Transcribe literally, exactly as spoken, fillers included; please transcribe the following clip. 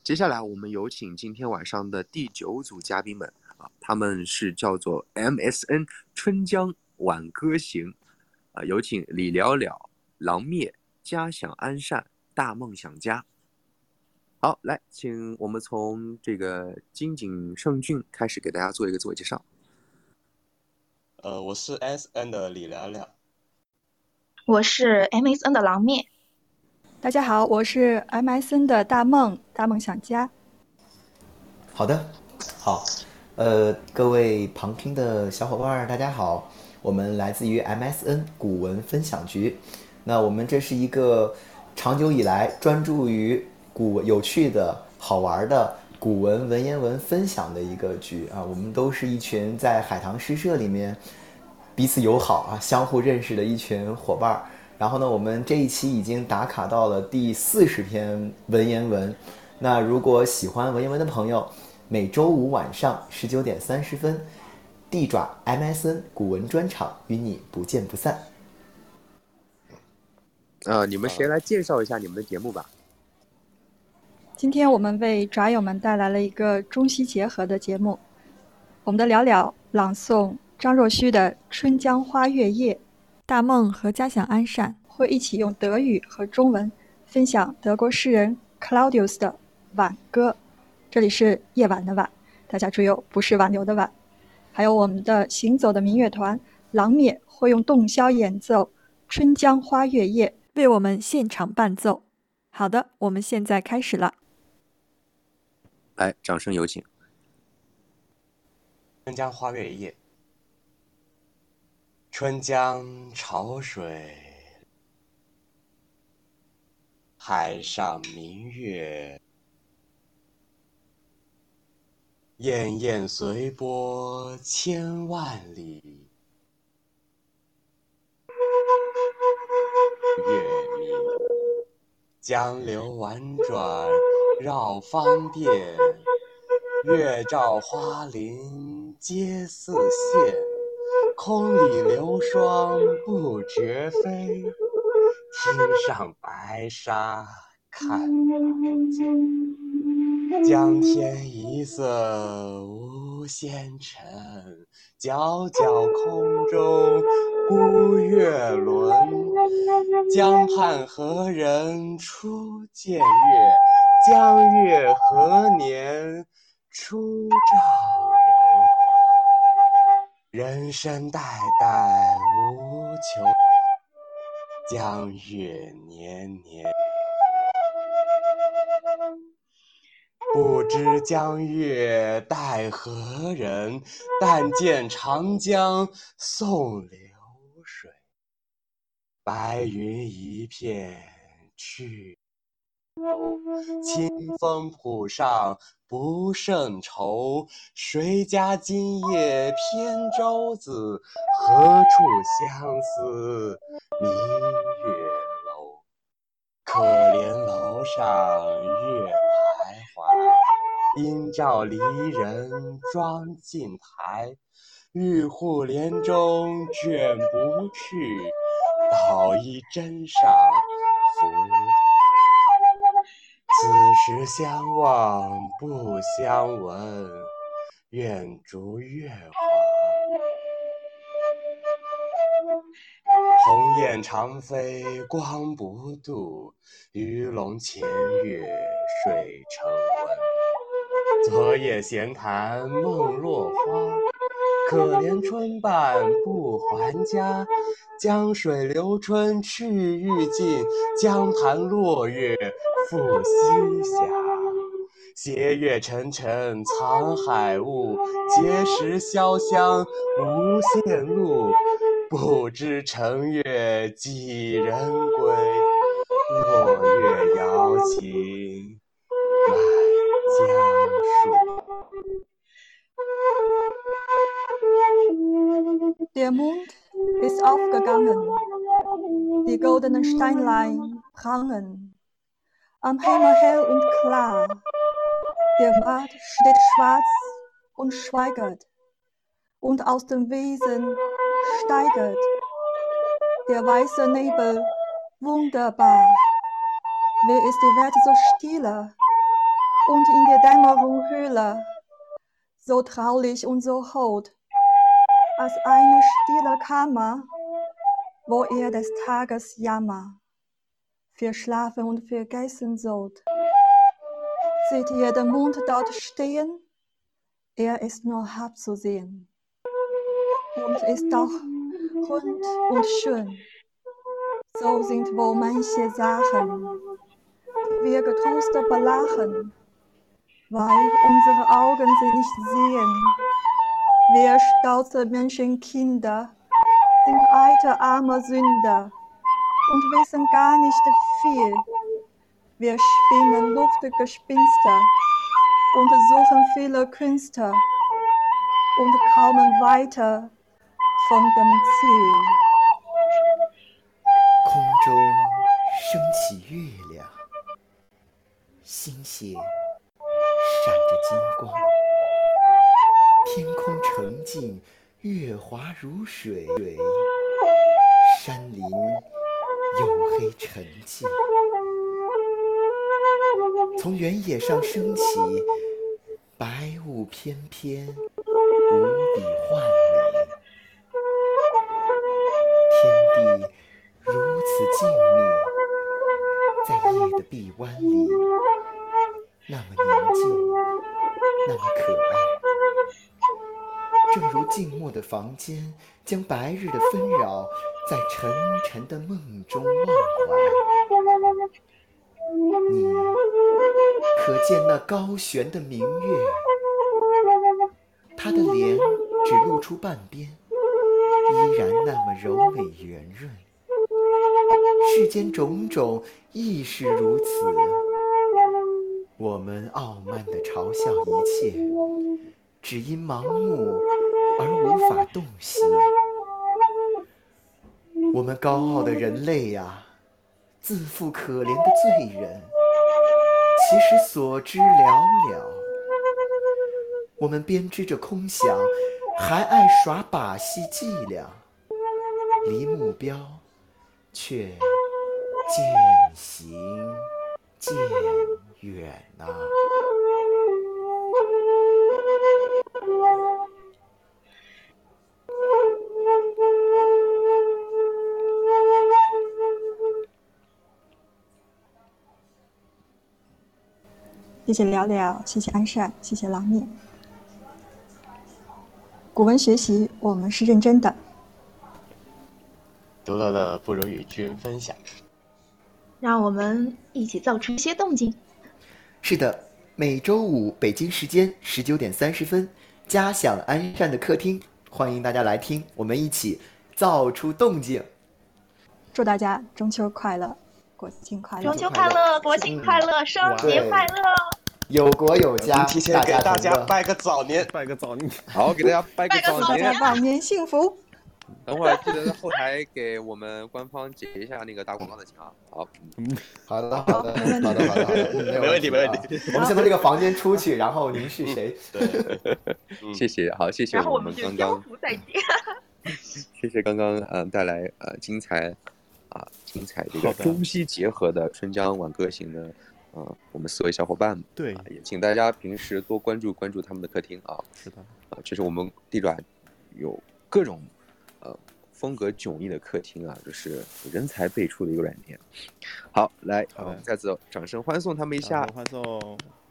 接下来我们有请今天晚上的第九组嘉宾们啊，他们是叫做 M S N 春江挽歌行啊，有请李了了、狼灭、家享安善、大梦想家。好，来，请我们从这个金井胜俊开始给大家做一个自我介绍。 呃，我是 S N 的李了了。 我是 M S N 的狼灭。 大家好，我是 M S N 的大梦大梦想家。 好的，好，呃，各位旁听的小伙伴，大家好，我们来自于 M S N 古文分享局。那我们这是一个长久以来专注于古有趣的好玩的古文文言文分享的一个局啊。我们都是一群在海棠诗社里面彼此友好啊，相互认识的一群伙伴。然后呢，我们这一期已经打卡到了第四十篇文言文。那如果喜欢文言文的朋友，每周五晚上十九点三十分，地爪 M S N 古文专场与你不见不散。 呃，你们谁来介绍一下你们的节目吧？ 今天我们为爪友们带来了一个中西结合的节目，我们的了了朗诵张若虚的《春江花月夜》，大梦和家享安善会一起用德语和中文分享德国诗人 Claudius 的挽歌，这里是夜晚的晚，大家注意哦，不是挽留的挽。还有我们的行走的民乐团狼灭会用洞箫演奏《春江花月夜》，为我们现场伴奏。好的，我们现在开始了。 来，掌声有请。 春江花月夜，春江潮水，海上明月，滟滟随波千万里。月明，江流婉转绕芳甸，月照花林皆似霰。空里流霜不觉飞，汀上白沙看不见。江天一色无纤尘，皎皎空中孤月轮。江畔何人初见月？江月何年初照人？人生代代无穷，江月年年。不知江月待何人？但见长江送流水。白云一片去头，清风浦上不胜愁。谁家今夜扁舟子？何处相思明月楼？可怜楼上月徘徊，应照离人妆镜台。玉户帘中卷不去，捣衣砧上拂台。此时相望不相闻，愿逐月华。鸿雁长飞光不度，鱼龙潜跃水成文。昨夜闲谈梦落花，可怜春半不还家。江水流春去欲尽，江潭落月复西斜。斜月沉沉藏海雾，碣石潇湘无限路。不知乘月几人归？落月摇情满江树。 Der Mond ist aufgegangen, die goldenen Steinlein prangen, am Himmel hell und klar. Der Markt steht schwarz und schweigert, und aus dem Wesen steigert der weiße Nebel wunderbar. Wer ist die Welt so stille? und in der Dämmerung Höhle, so traulich und so hold, als eine stille Kammer, wo er des Tages Jammer verschlafen und vergessen sollt. Seht ihr den Mond dort stehen? Er ist nur halb zu sehen und ist doch rund und schön. So sind wohl manche Sachen, die wir getrost belachen, weil unsere Augen sie nicht sehen. Wir stolze Menschenkinder sind alte arme Sünder und wissen gar nicht viel. Wir spinnen Luftgespinste und suchen viele Künste und kommen weiter von dem Ziel. 空中升起月亮，星血闪着金光，天空澄净，月华如水，山林黝黑沉寂。从原野上升起，白雾翩翩，无比幻美。天地如此静谧，在夜的臂弯里，那么宁静，那么可爱。正如静默的房间，将白日的纷扰在沉沉的梦中忘怀。你可见那高悬的明月，它的脸只露出半边，依然那么柔美圆润。世间种种亦是如此，我们傲慢地嘲笑一切，只因盲目而无法洞悉。我们高傲的人类呀，自负可怜的罪人，其实所知寥寥。我们编织着空想，还爱耍把戏伎俩，离目标却渐行渐远啊。 谢谢聊聊，谢谢安善，谢谢郎面。古文学习，我们是认真的。 读到的不如与君分享。 让我们一起造出一些动静。 是的，每周五北京时间十九点三十分，嘉享安善的客厅，欢迎大家来听，我们一起造出动静。 祝大家中秋快乐，国庆快乐！ 中秋快乐，国庆快乐，生节快乐！ 有国有家， 提前给大家拜个早年， 拜个早年， 好，给大家拜个早早年， 晚年幸福。 等会儿记得在后台给我们官方解一下那个打广告的情啊。好， 嗯，好的，好的，好的，好的，好的， 没问题，没问题。 我们先从这个房间出去，然后您是谁？ 对， 谢谢，好，谢谢我们刚刚， 再见。 谢谢刚刚嗯带来呃精彩啊精彩这个中西结合的春江晚歌行的呃我们四位小伙伴们。 对， 也请大家平时多关注关注他们的客厅啊。 是的， 啊，这是我们地爪有各种。呃，风格迥异的客厅啊，就是人才辈出的一个软件。好，来，我们再次掌声欢送他们一下。 欢送。